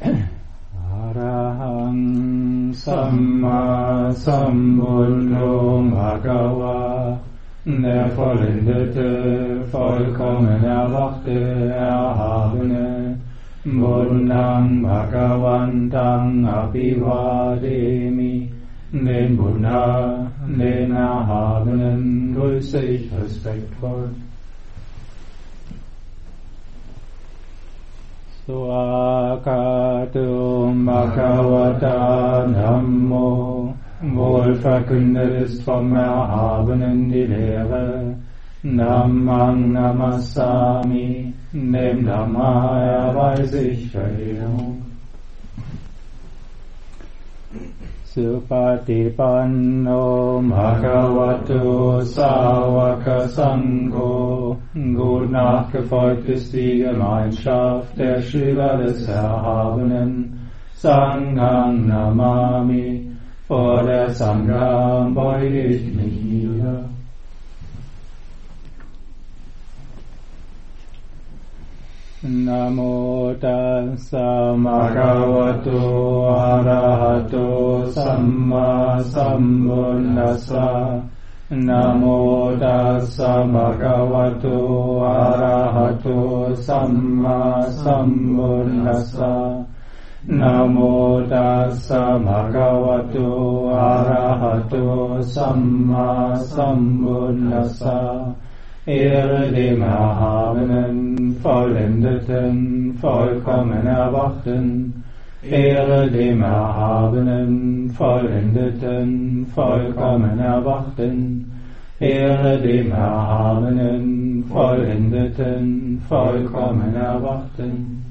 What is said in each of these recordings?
อะระหังสัมมาสัมพุทโธภะคะวะder vollendete, vollkommene, erwachte, erhabene, Buddhang Bhagavantang Abhivademi, den Buddha, den Erhabenen, grüße ich respektvoll. Swakatum Bhagavata Dhammo, wohlverkündet ist vom Erhabenen die Lehre, Dhammang Namassami, dem Dhamma erweise ich Verehrung. Supatipanno Bhagavato Sāvaka Sangho, gut nachgefolgt ist die Gemeinschaft der Schüler des Erhabenen, Sanghang Namami, vor der Sangha beuge ich mich nieder. Namo tassa bhagavato arahato samma sambuddhassa. Namo tassa bhagavato arahato samma sambuddhassa. Namo tassa bhagavato arahato samma sambuddhassa. Ehre dem Erhabenen, Vollendeten, vollkommen Erwachten. Ehre dem Erhabenen, Vollendeten, vollkommen Erwachten. Ehre dem Erhabenen, Vollendeten, vollkommen Erwachten.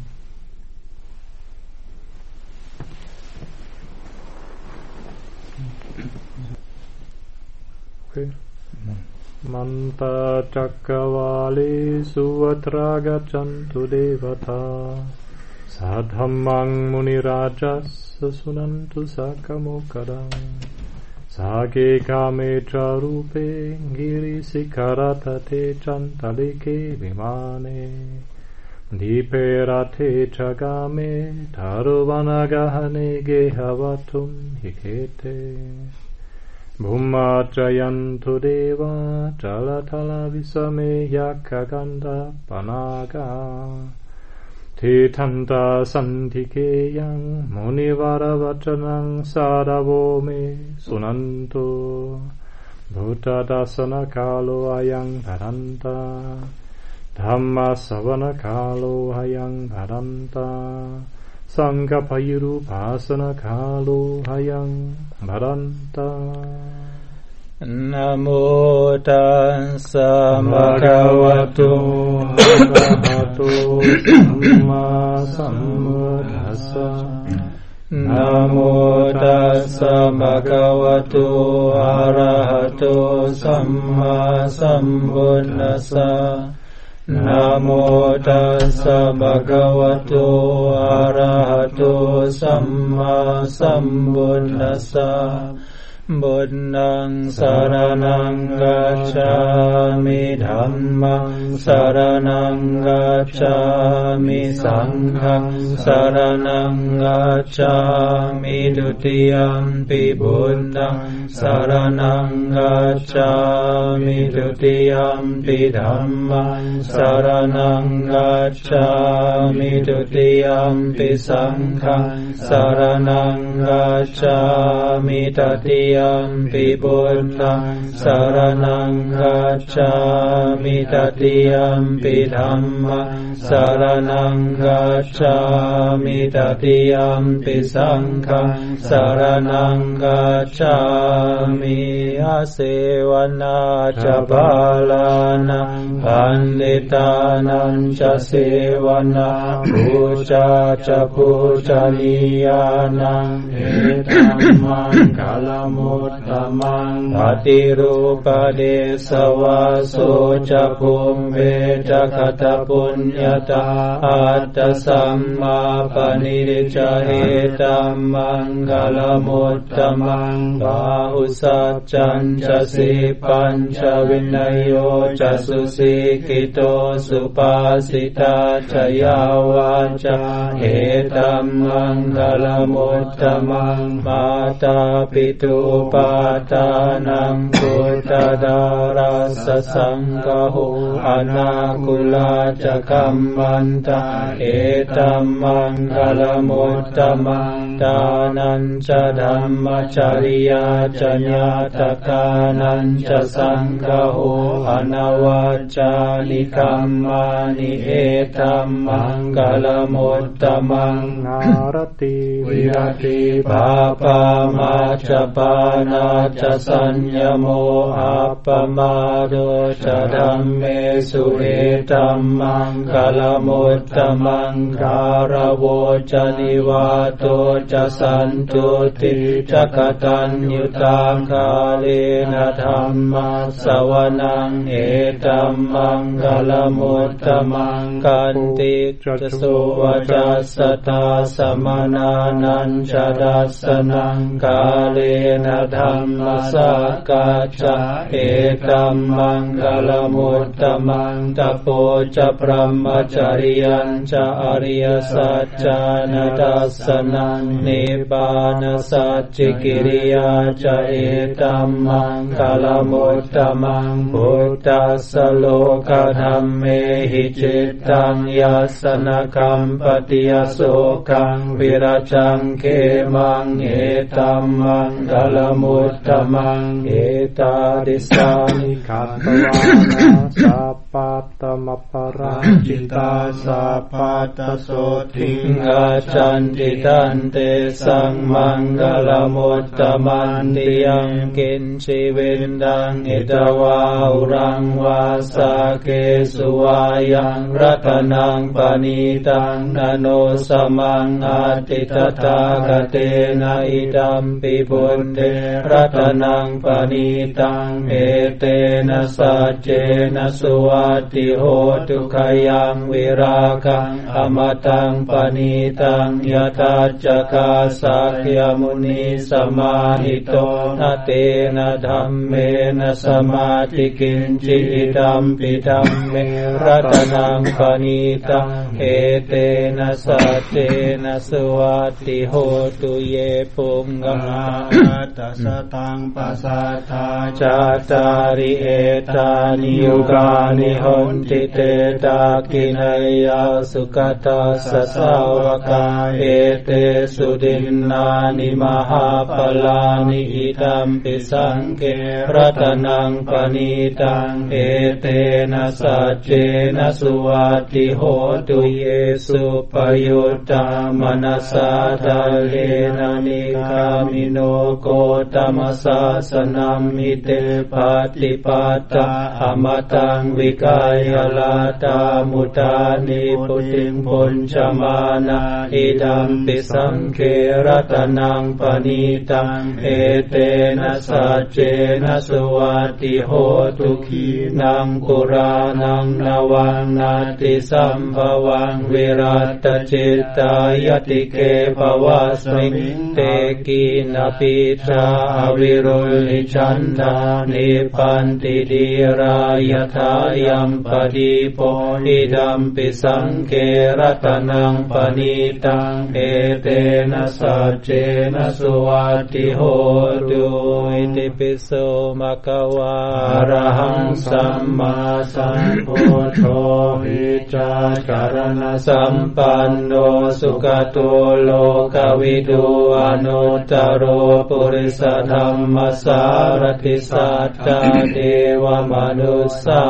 Okay. Manta Cakkavali Suvatra Gaccantu Devata Sadhammang Munirajas Sunantu Sakamokadam Sake Kametra Rupe Girisikaratate Chantalike Vimane Diperate Chagame Taruvanagahane Gehavatum Hikete Bhummatrayantu deva chalatala visame yakaganda panaga Titanta santikeyang munivaravachanang sadavo me sunanto Bhuttadasana kalo ayang bharanta Dhamma savana kalo ayang bharanta Sankapayuru pasana kalo hayang bharanta. Namo tassa bhagavato arahato samma sambuddhassa. Namo tassa bhagavato arahato samma sambuddhassa. Namo tassa bhagavato arahato samma sambuddhassa. Buddhang saranang gacchami, dhammang saranang gacchami, sanghang saranang gacchami, dutiyampi buddhang saranang gacchami, dutiyampi dhammang saranang gacchami, dutiyampi sanghang saranang gacchami, tatiyampi buddhang saranang gacchami, tatiyampi dhammang saranang gacchami, tatiyampi sanghang saranang gacchami. Asevana ca balanang panditanang ca sevana puja ca pujaniyanang etamang kalam มุตตมังปฏิรูปเดสวาโสจะภูมิเวจะคตปุญญาตาอัตตสัมมาปณิจเหตัมมังคลมุตตมังบาหุสัจจัญจะสีปัญจวินัยโยจะสุสีกิโตสุปาสิตาจยาวาจาเหตัมมังคลมุตตมังมาตาปิตุปาทานังพุทธดาราสสังฆหูอนาคุลาจะกัมมันตาเหตัมมังคลมุตตมังทานัญจะธัมมจริยาจญาตกานัญจะสังฆหูอนวัจจานิคัมมานิเหตัมมังคลมุตตมังนารติวิรติภาปามาจปานาจะสัญญโมอัปปมาโดจะธัมเมสุเหตัมมังคลมุตตมังคารโวจะนิวาโตจะสันตุติจักตัญญุตาคาเลนะธัมมัสสวนังเอตัมมังคลมุตตมังกันติจะสุวจัสสตาสมนานัญจดัสสนังกาเลนะธัมมัสสกัจจเอตัมมังคลมุตตมังตโปจะพรหมจริยัญจะอริยสัจจานัดัสสนังนิพพานสัจจิกิริยาจะเอตัมมังคลมุตตมังพุทธัสสโลกธัมเมหิจิตตังยัสสนกัมปติยโสกังวิรจังเขมังเอตัมมังคลมุตตมังเอตาดิสานิขัตตวานาสัพพัตตมปราจิตาสัพพัตตโสทิงอาจันติตันเตสังมังคลมุตตมันติยังกินชีวินดังอิตวาอุรังวาสาเกสุวายังรัตนังปณิตังนโนสมังอาติตตากเตนะอิดัมปิบุญเตรัตนังปณิตังเอเตนะสัจเจนะสุวัตติโหตุขยังวิราคังอมตังปณิตังยทัจจกาสักยมุนีสมาหิโตนะเตนะธัมเมนะสมาธิกินจิตัมปิธัมเมรัตนังปณิตังเอเตนะสัจเจนะสุวัตติโหตุเยปุงกมาตัสตังปัสสัทธาจาตาริเอตานิยุกานิหนติเตตากินัยยาสุขตัสสะสาวกาเอเตสุดินนานิมหาปลานิอิตัมปิสังเกรัตนังปณิตังเอเตนะสัจเจนะสุวัตติโหตุเยสุปยุตตามนัสสะทัลเลนะนิกามิโนโกตมัสสะสนัมมิเตปฏิปัตตาอมตังวิกายลาตามุตานิปุติงปุญชมานาอิดัมปิสังเขรัตนังปณิตังเอเตนะสัจเจนะสุวัตติโหตุขีนังปุรานังนวังนาติสัมภวังวิรัตจิตตายติเกภวะสมิเตกินาปิชาวิรุลิชันธานิปันติดีรายทายัมปดีโพนิดัมปิสังเกรัตนังปณิตังเอเตนะสัจเจนะสุวัตติโหตุอิติปิโสมะคะวะอะระหังสัมมาสัมพุทโธวิจารณสัมปันโนสุขโตโลกวิทูอนุตตโรปุริสธรรมสารติสัจจเทวมนุสสานั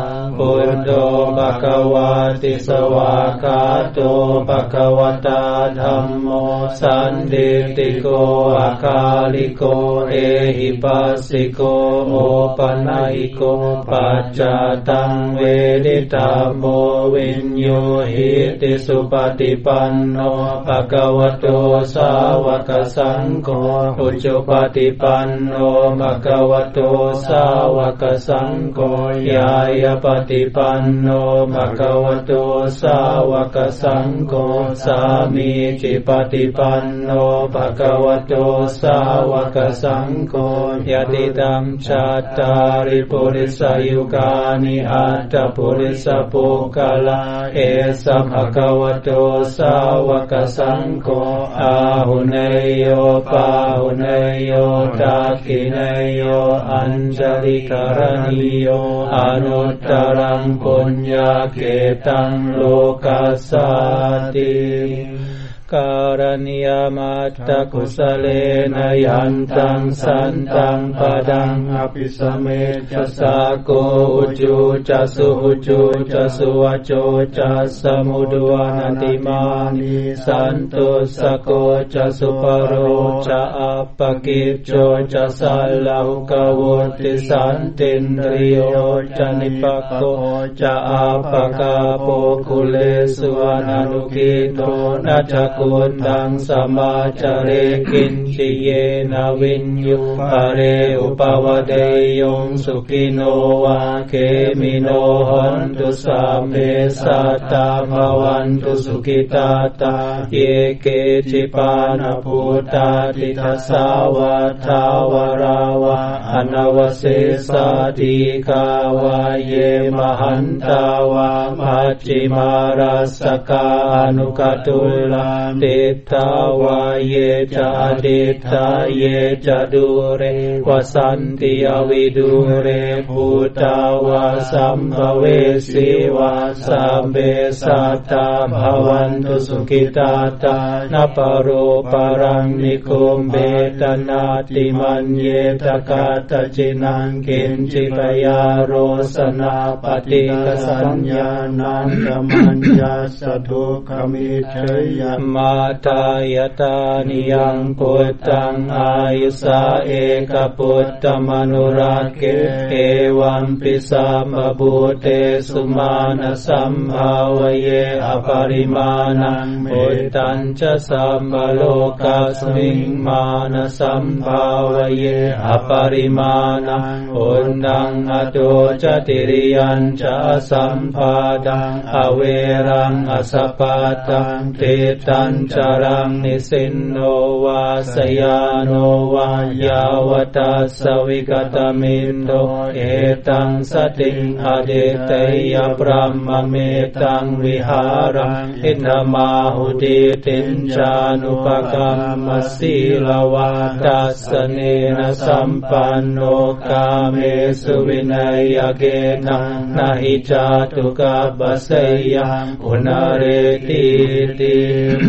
พุทโธภควาติสวากขาโตภควตาธัมโมสันทิติโกอาคาลิโกเอหิปัสสิโกโอปัญญิโกปัจจตังเวดิตาโมวิญโยหิติสุปฏิปันโนภควโตสาวกสังโฆอุจุปฏิปันโนภควโตสาวกสังโฆยายปฏิปันโนภควโตสาวกสังโฆสามีจิปฏิปันโนภควโตสาวกสังโฆยะติตังชัตตาริปุริสยุกานิอัตตปุริสปุกลาเอสะภควโตสาวกสังโฆอาหุเนยโยปาหุเนยโยทักขิเนยโยอัญจลิกรณีโยอนุตตรังปุญญาเกตังโลกัสสติการณิยมัตตกุสเลนยันตังสันตังปดังอภิสเมจัสสะโกอุจุจัสสุหุจุจัสสุวโจจัสสมุดวานันติมานิสันตุสโกจัสสุปโรจะอัปปกิจโจจัสสัลลาหุกวุติสันตินริโยจะนิปักโกจะอัปปกาโปคุเลสุวานานุกิโตนะจักกุตังสมาจาเรกินจิเยนะวิญยุปะเรอุปวเดยงสุขิโนวาเกมิโนหันตุสัมเมสัตตาภวันตุสุขิตาตาเยเกจิปานะพุทธาติทัสสาวะทาวราวะอนวเสสาติกาวะเยมหันตาวะมัจจิมารัสสกานุกตุลาติทาวาเยจะดิทาเยจะดูเรวสันติอวิดูเรภูตาวาสัมภเวสีวาสัมเบสัตตาภวันตุสุขิตาตานาปโรปรังนิคุมเบตนาติมันเยตกาตจินังกินจิปยาโรสนาปฏิกสัญญานันตมัญญาสทุขมิเชยมาตายตานิยังพุทธังอายุสาเอกพุทธมนุราเกเอวัมปิสัมบูเตสุมาณสัมภาวเยอปริมาณังพุทธังจะสัมโลกัสมิงมาณสัมภาวเยอปริมาณังอุณังอโตจติริยัญจะสัมภาดังอเวรังอสปาตังเตตัญจรังนิสินโนวาสยานโนวายาวตัสสวิกตมินโตเอตังสติงอเดเตยพรหมเมตังวิหารังอินทมาหุติตินจานุปกัมมสีลวาตัสสเนนะสัมปันโนกาเมสุวินัยเกนะนะหิจาตุกัปปะเสยังอุณเรติติ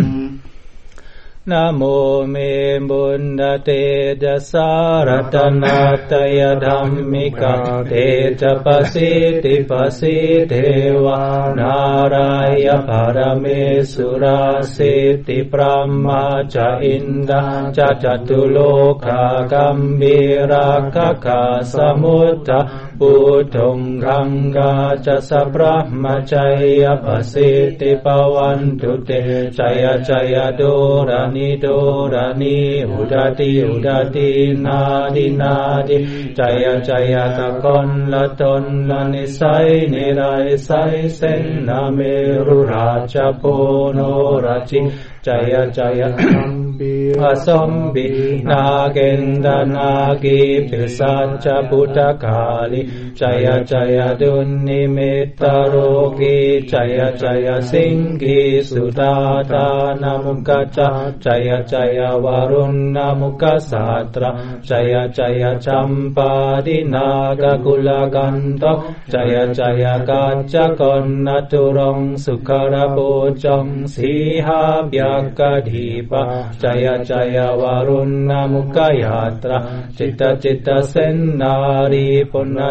นะโมเมบุญเตจะสารตนาตยธัมมิกะเตจะปสิติปสิเทวานารายภารเมสุราสิติพรหมาจะอินดาจะจตุโลกากัมบีราคะกาสมุตตะปุถุงคังกาจะสัพพะมจัยปสิติปวันตุเตจัยจัยโดรานิโดรานิอุดาติอุดาตินาดินาดิจัยจัยตะกอนละตนละนิสัยนิรัยไสเสนาเมรุราชโพโนราชิจัยจัยอสมบินาเกนดานากิปิสัจจพุทธกาลิจัยจัยดุลนิมิตตโรกิจัยจัยสิงกิสุตาตานามุกจัยจัยวารุณนามุกสัตระจัยจัยจัมปาดินากกุลกันตจัยจัยกัจจกนตุรงสุขระโพจงสีหาบยากดีปะจัยจัยวารุณนามุกยาตระจิตจิตเสนนารีปุณ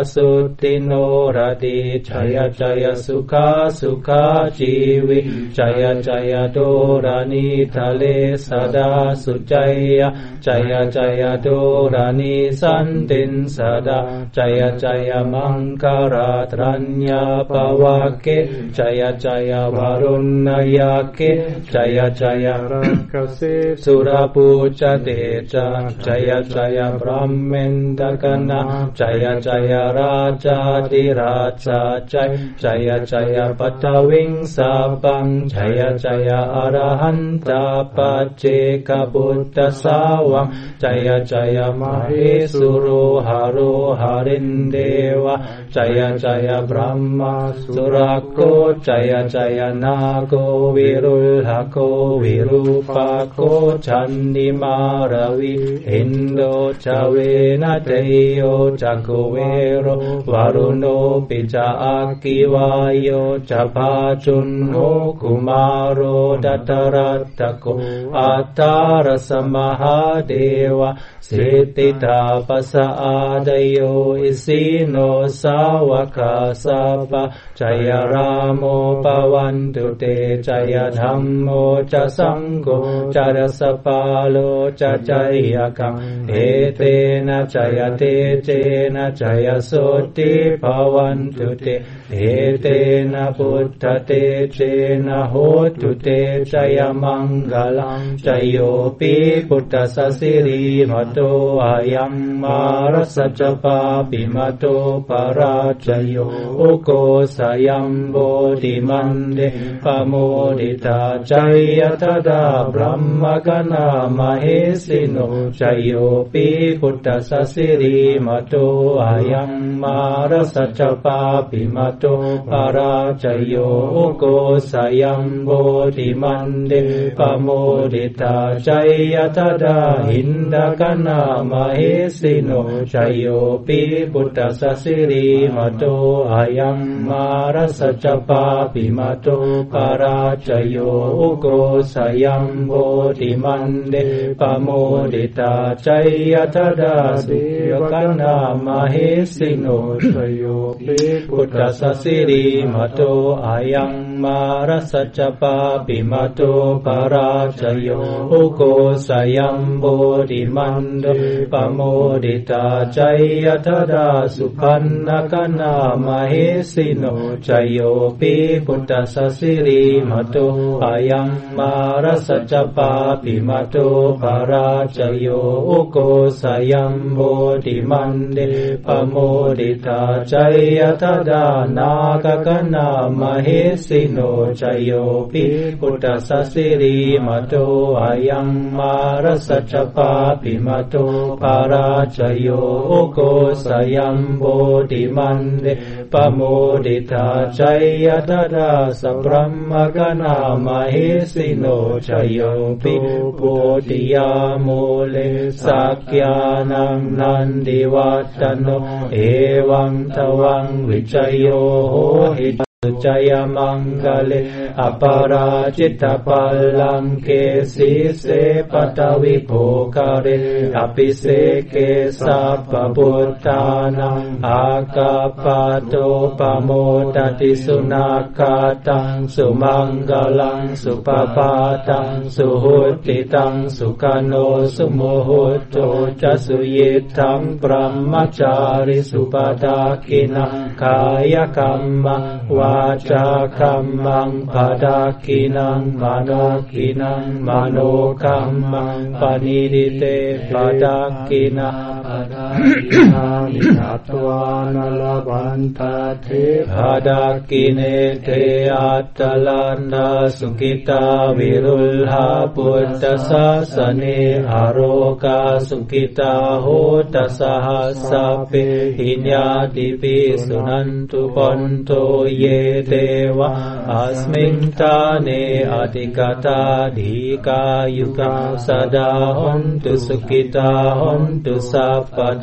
สุติโนรติจยจยสุขาสุขาชีวิจยจยโดรานิทะเลสดาสุจยจยจยโดรานิสันตินสดาจยจยมังคาราตรัญญาภวะเกจยจยวารุณยาเกจยจยรักสิสุรปูจเตจาจยจยพรหมินทกนะจยจยราชาธิราชาจยจยปัทวิงสาปังจยจยอรหันตปัจเจกพุทธสาวังจยจยมเหสุโรหาโรหารินเดวะจยจยบรหมสุรโกจยจยนาโกวิรุลหโกวิรูปโกชันดิมารวิอินโดจเวนะเตโยจักเวโรวารุโนปิจาอากิวายโยจะพาจุนโหกุมารโรดัตรัตตโกอัตตารสมหาเดวะสิทธิตาปัสสะอาดโยอิสิโนสาวกาสัพพะจยราโมปวันตุเตจยธัมโมจะสังโฆจารสปาโลจะจยกังเอเตนะจยเตเจนะจยโสติภวันตุเตเอเตนะพุทธเตเจนะโหตุเตจยมังกลังจโยปิพุทธสสิริมโตอายัมมารัสจปาปิมโตปราจโยอุโกสยัมโบธิมันเดปโมดิตาจยตดาบรมมกนามเหสิโนจโยปิพุทธสสิริมโตอายัมมารัสจปาปิมโตปราจโยอุโกสยัมโบธิมันเดปโมดิตาจยตดาหินดกนามเหสิโนจโยปิพุทธสสิริมโตอายัมมารัสจปาปิมโตปราจโยอุโกสยัมโบธิมันเดปโมดิตาจยตดาสุยกนามเหสิโนจโยปิพุทธสสิริมโตอายัมมารัสจปาปิมโตปราจโยอุโกสยัมโบธิมันเดปโมดิตาจยตดาสุขันนกนามเหสิโนจโยปิพุทธสสิริมโตอายัมมารัสจปาปิมโตปราจโยอุโกสยัมโบธิมันเดปโมดิตาจยตดานากกนามเหสิโนจโยปิพุทธสสิริมโตอายัมมารัสจปาปิมโตปราจโยอุโกสยัมโบธิมันเดปโมดิตาจยตดาสัพพมกนามเหสิโนจโยปิโพธิยาโมเลสักยานังนันดิวัตโนเอวังทวังวิจโยโหหิจยมังกเลอปาราจิตปัลลังเกสีเสปตวิโภคาเรอภิเสเกสัพพพุทธานังอากาปโตปโมตติสุนาคาตังสุมังกลังสุปปาตังสุหุติตังสุขโนสุโมโหโตจะสุยิตังปรหมจาริสุปตาคินังกายกัมมังวาจาคัมมังปะดาคินังมโนคินังมโนคัมมังปณิดิเตปะดาคินาปะดาคินานิทัตวานลบันตาเทปะดาคิเนเทอัตตลันดาสุขิตาวิรุลหาพุทธศาสเนอโรกาสุขิตาโหตสหัสสะเปหิญญาติปิสุนันตุปันโตเยเทวะอัสมิงตาเนอติกตาดีกายุกาสดาหนตุสุขิตาหนตุสัพพด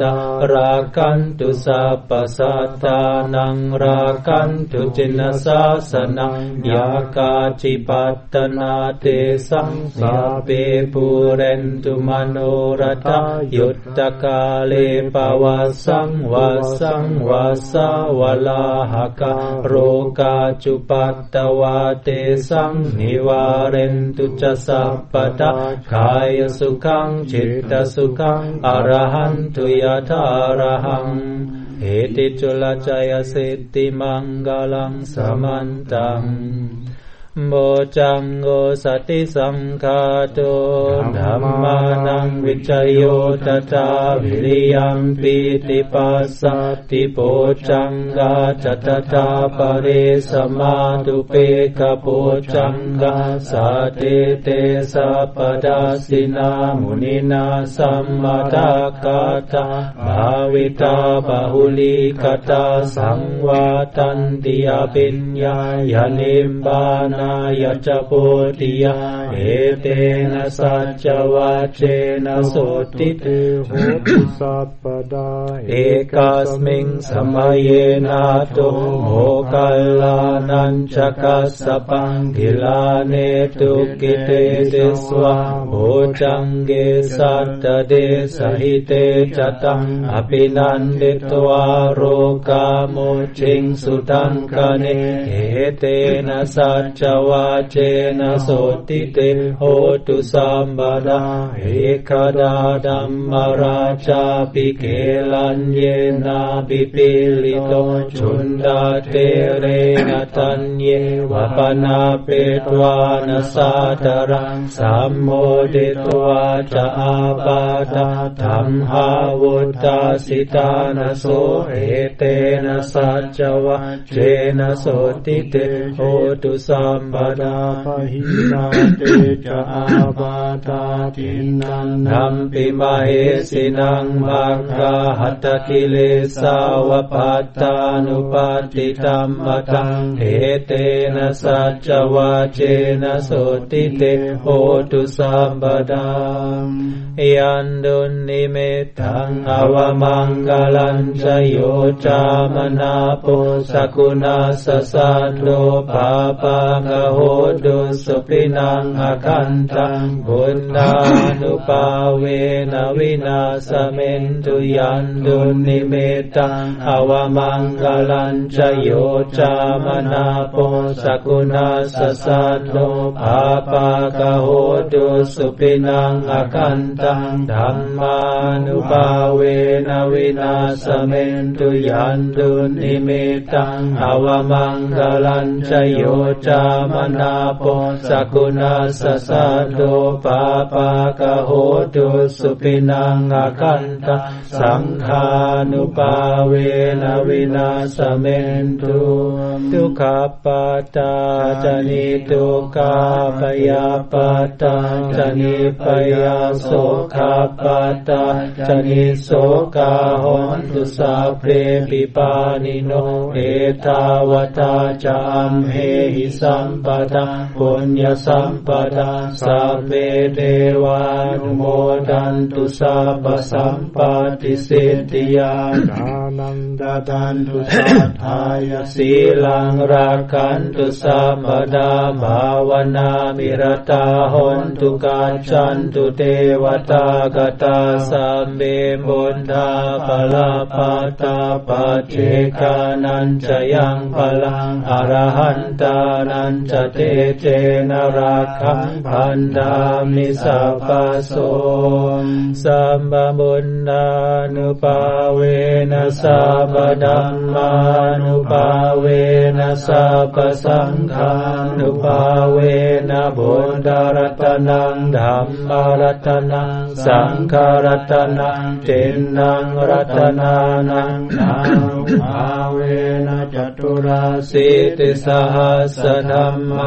ตาราคันตุสัพพสัตตานังราคันตุจินสาสนังยากาจิปัตตนาเตสังสัพเพปุเรนตุมโนรถายุตตกาเลปวัสสังวัสสังวัสสาวลาหกะโรกาจุปัตตวาเตสังนิวาเรนตุจสัพพตากายสุขังจิตตสุขังอรหันตุยะถาอรหังเอติจุลจายสิทธิมังกลังสมันตังโมจังโกสติสังฆาโตธัมมานังวิจโยตถาวิริยังปิติปัสสติโพจังกาจัตตาปะเรสมาตุเปกโพจังกาสัตเตเตสัพพดาสินามุนินาสัมมาตากาตาภาวิตาบาหุลิกตาสังวาตันติอภิญญายานิมบานายจโพธิยาเอเตนะสัจจวัชเชนะโสติเตโหตุสัพพดาเอกัสมิงสมัยนาโตโมคัลลานัญจกัสสปังกิลาเนตุกิเตติสวะโหจังเกสัตตเดสหิเตจตังอภินันเดตวาโรกาโมจิงสุตังกเนเอเตนะสัจจวาเจนะโสติเตโหตุสัมปดาเอกดาดัมมราชาปิเกลัญเยนาปิปิลิโตชุนดาเตเรนะตัญเยวะปนาเปตวานะสาตรังสัมโมเดตวาจะอาปาตาธัมหาวุตตาสิตานะโสเอเตนะสัจจวะเจนะโสติเตโหตุสัมปดาปหินาเตจะอาบาตาทินันนัมปิมาเหสินังมัคคาหัตถกิเลสาวปัตตานุปัฏฐิธัมมตังเอเตนะสัจจวาเจนะโสติเตโหตุสัมปดายันดุนิเมตังอวมังกลัญชโยจามนาโปสกุณาสสัตโลภาปะกะโหตุสุปินังอคันตังบุญญานุภาเวนะวินาสเมนตุยันดุนิเมตังอวมังกลัญชโยจามนาโปสกุณาสสัตโลภาปะกะโหตุสุปินังอคันตังธัมมานุภาเวนะวินาสเมนตุยันดุนิเมตังอวมังกลัญชโยจามนาโปสกุณาสสัตโลภาปะกะโหตุสุปินังอคันตังสังฆานุภาเวนะวินาสเมนตุทุกขปัตตาจนิทุกขาปยาปัตตาจนิปยาโสขาปัตตาจนิโสกาหนตุสัพเพปิปานิโนเอตาวตาจามเหหิสัมปทาปุญญสัมปทาสัพเพเทวานุโมทันตุสัพพสัมปติสิทธิยานานันดาตันตุสัทธายสีลังรักขันตุสัมปดาภาวนามิรตาหนตุกัจฉันตุเทวตากตาสัมเบบุญธาภลาปัตตาปัจเจกานันจะยังพลังอรหันตานันจะเตเจนะรักขังพันธามิสัพพโสสัมปบุญญานุภาเวนะสัพพธัมมานุภาเวนะสัพพสังฆานุภาเวนะบุญญารัตนังธัมมารัตนังสังฆรัตนังเจนังรัตนานังนานุภาเวนะจตุราสิติสหัสธัมมาขั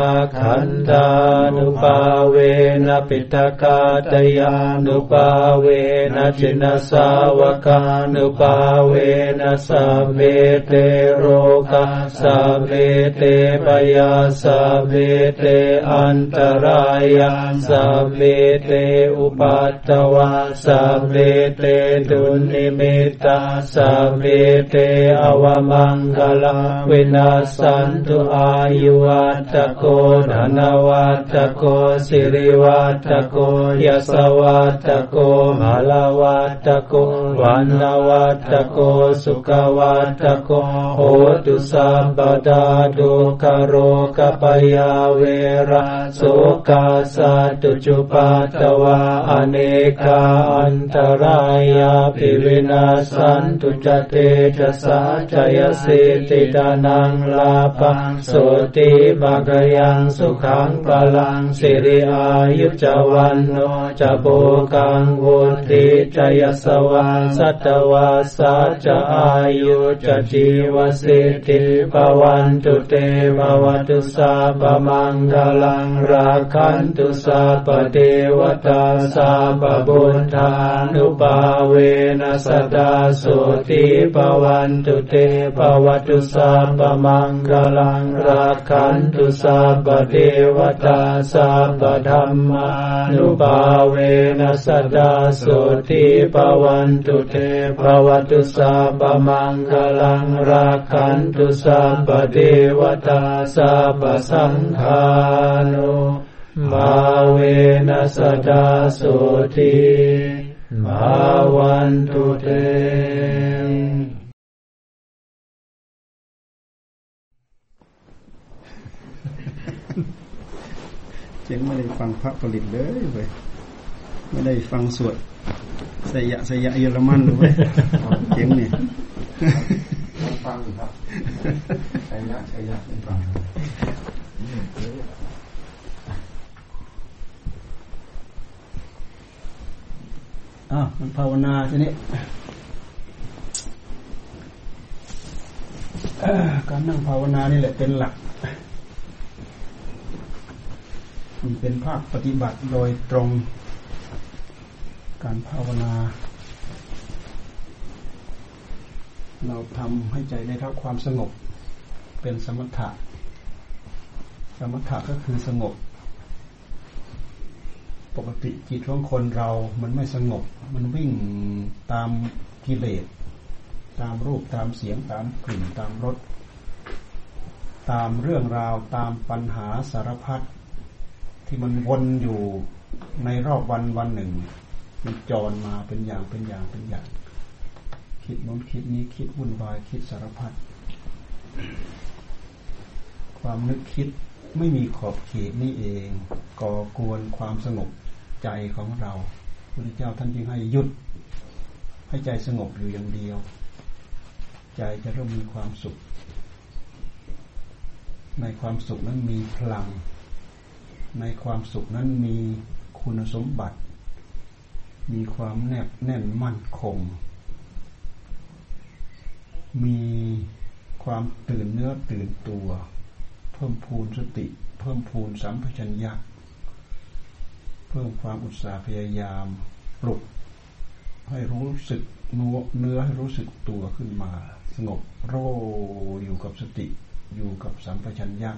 ขันธานุภาเวนะปิตกาตยานุภาเวนะจินสาวกานุภาเวนะสัพเพเตโรกาสัพเพเตปยาสัพเพเตอันตรายาสัพเพเตอุปัตตวาสัพเพเตตุนิมิตาสัพเพเตอวมังคลาวินาสันตุอายุวัตโกธนวัตโกสิริวัตโกยสวัตโกมหลวัตโกวันวัตโกสุขวัตโกโหตุสัพพดาดุขโรกปยาเวระโสกาสัตตุจุปัตตวาอเนกาอันตรายาภิวินาสันตุจเตจสาจยสิติตานังลาภังโสติภะกยังสุขังพลังสิริอายุจวันโนจะโภกังวุติจยสวาสัตวาสัจอายุจะจีวสิทธิภวันตุเตภวตุสัพพมังคลังราคันตุสัพพเทวตาสัพพบุตธานุภาเวนะสตาโสติภวันตุเตภวตุสัพพมังคลังราคันตุสัพพเทวตาสัพพธัมมานุภาเวนะสตาโสติภวันตุเตภวตุสัพพมังคลังราคันตุสัพพเทวตาสัพพสังฆานุภาเวนะสตาโสติภวันตุเตเจ๋งไม่ได้ฟังพระผลิตเลยเว้ยไม่ได้ฟังสวดสยะเยอรมันเลยเว้ยเจ๋งเนี่ยฟังครับสยะไม่ฟังมันภาวนาทีนี้การนั่งภาวนานี่แหละเป็นหลักมันเป็นภาคปฏิบัติโดยตรงการภาวนาเราทำให้ใจได้รับความสงบเป็นสมถะก็คือสงบปกติจิตของคนเรามันไม่สงบมันวิ่งตามกิเลสตามรูปตามเสียงตามกลิ่นตามรสตามเรื่องราวตามปัญหาสารพัดที่มันวนอยู่ในรอบวันหนึ่งมันจรมาเป็นอย่างคิดโน้นคิดนี้คิดวุ่นวายคิดสารพัดความนึกคิดไม่มีขอบเขตนี่เองก่อกวนความสงบใจของเราพระพุทธเจ้าท่านจึงให้หยุดให้ใจสงบอยู่อย่างเดียวใจจะเริ่มมีความสุขในความสุขนั้นมีพลังในความสุขนั้นมีคุณสมบัติมีความแนบแน่นมั่นคงมีความตื่นเนื้อตื่นตัวเพิ่มพูนสติเพิ่มพูนสัมปชัญญะเพิ่มความอุตสาห์พยายามปลุกให้รู้สึกเนื้อให้รู้สึกตัวขึ้นมาสงบโรอยู่กับสติอยู่กับสัมปชัญญะ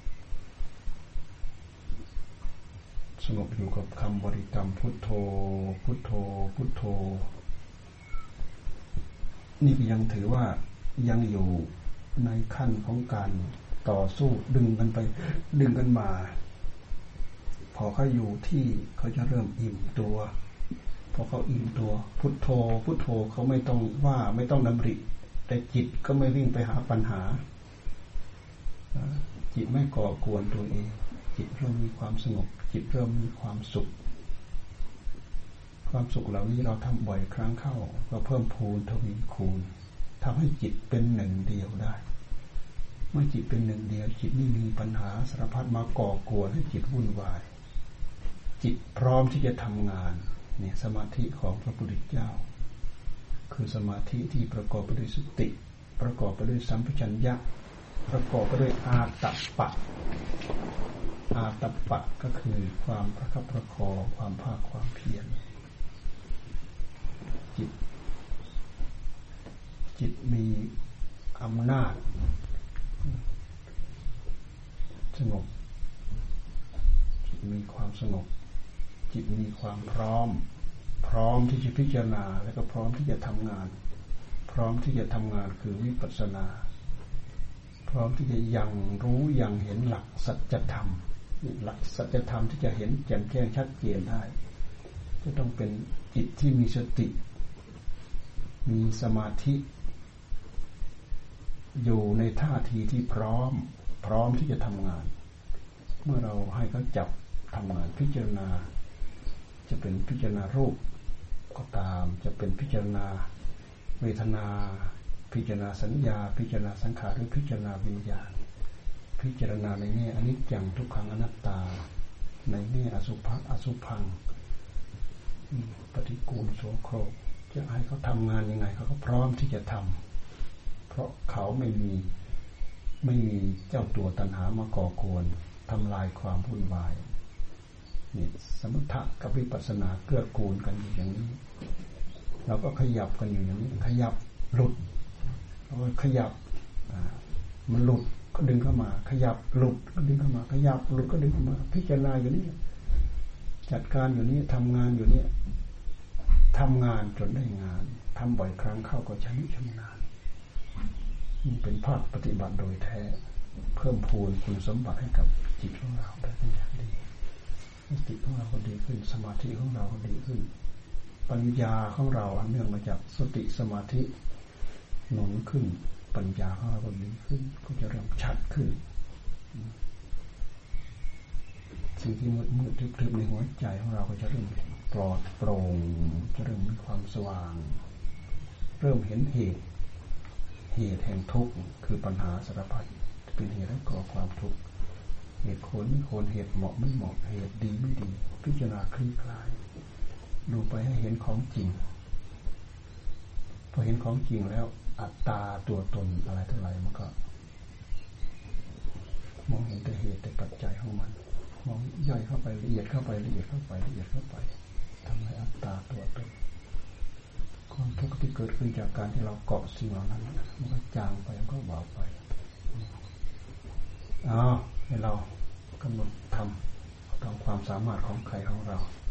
สงบอยู่กับคำบริกรรมพุทโธพุทโธพุทโธนี่ก็ยังถือว่ายังอยู่ในขั้นของการต่อสู้ดึงกันไปดึงกันมาพอเขาอยู่ที่เขาจะเริ่มอิ่มตัวพอเขาอิ่มตัวพุทโธพุทโธเขาไม่ต้องว่าไม่ต้องดำริแต่จิตก็ไม่วิ่งไปหาปัญหาจิตไม่ก่อกวนตัวเองจิตเริ่มมีความสงบจิตเริ่มมีความสุขความสุขเหล่านี้เราทำบ่อยครั้งเข้าก็เพิ่มพูนทวีคูณทำให้จิตเป็นหนึ่งเดียวได้เมื่อจิตเป็นหนึ่งเดียวจิตไม่มีปัญหาสารพัดมาก่อกวนให้จิตวุ่นวายจิตพร้อมที่จะทำงานเนี่ยสมาธิของพระพุทธเจ้าคือสมาธิที่ประกอบไปด้วยสติประกอบไปด้วยสัมปชัญญะประกอบไปด้วยอาตัปปะอาตปะก็คือความประคับประคองความภาคความเพียรจิตมีอำนาจสงบจิตมีความสงบจิตมีความพร้อมที่จะพิจารณาแล้วก็พร้อมที่จะทำงานพร้อมที่จะทำงานคือวิปัสสนาพร้อมที่จะยังรู้ยังเห็นหลักสัจธรรมหลักสัจธรรมที่จะเห็นแจ่มแจ้งชัดเจนได้จะต้องเป็นจิตที่มีสติมีสมาธิอยู่ในท่าทีที่พร้อมที่จะทำงานเมื่อเราให้เขาจับทำงานพิจารณาจะเป็นพิจารณารูปก็ตามจะเป็นพิจารณาเวทนาพิจารณาสัญญาพิจารณาสังขารหรือพิจารณาวิญญาณพิจารณาในแง่อนิจจังทุกขังอนัตตาในแง่อสุภะอสุพังปฏิกูลโสโครกจะให้เขาทำงานยังไงเขาก็พร้อมที่จะทำเพราะเขาไม่มีเจ้าตัวตัณหามาก่อกวนทำลายความวุ่นวายนี่สมถะกับวิปัสสนาเกื้อกูลกันอยู่อย่างนี้เราก็ขยับกันอยู่อย่างนี้ขยับหลุดเราก็ขยับมันหลุดก็ดึงเข้ามาขยับหลุดก็ดึงเข้ามาขยับหลุดก็ดึงเข้ามาพิจารณาอยู่นี่จัดการอยู่นี่ทำงานอยู่นี่ทำงานจนได้งานทำบ่อยครั้งเข้าก็ชำนาญนี่เป็นภาคปฏิบัติโดยแท้เพิ่มพูนคุณสมบัติให้กับจิตของเราได้เป็นอย่างดีสติของเราก็ดีขึ้นสมาธิของเราก็ดีขึ้นปัญญาของเราอันเนื่องมาจากสติสมาธิหนุนขึ้นปัญญาของเราก็ดีขึ้นก็จะเริ่มชัดขึ้นสิ่งที่มืดทึบในหัวใจของเราก็จะเริ่มปลอดโปร่งจะเริ่มมีความสว่างเริ่มเห็นเหตุแห่งทุกข์คือปัญหาสารพัดเป็นเหตุให้ก่อความทุกข์เหตุควรไม่ควรเหตุเหมาะไม่เหมาะเหตุดีไม่ดีพิจารณาคลี่คลายดูไปให้เห็นของจริงพอเห็นของจริงแล้วอัตตาตัวตนอะไรเท่าไหร่มันก็มองเห็นแต่เหตุแต่ปัจจัยของมันมองย่อยเข้าไปละเอียดเข้าไปทำให้อัตตาตัวตนความทุกข์ที่เกิดขึ้นจากการที่เราเกาะสิ่งเหล่านั้นมันก็จางไปมันก็เบาไปให้เรากำหนดทำตามความสามารถของใครของเรา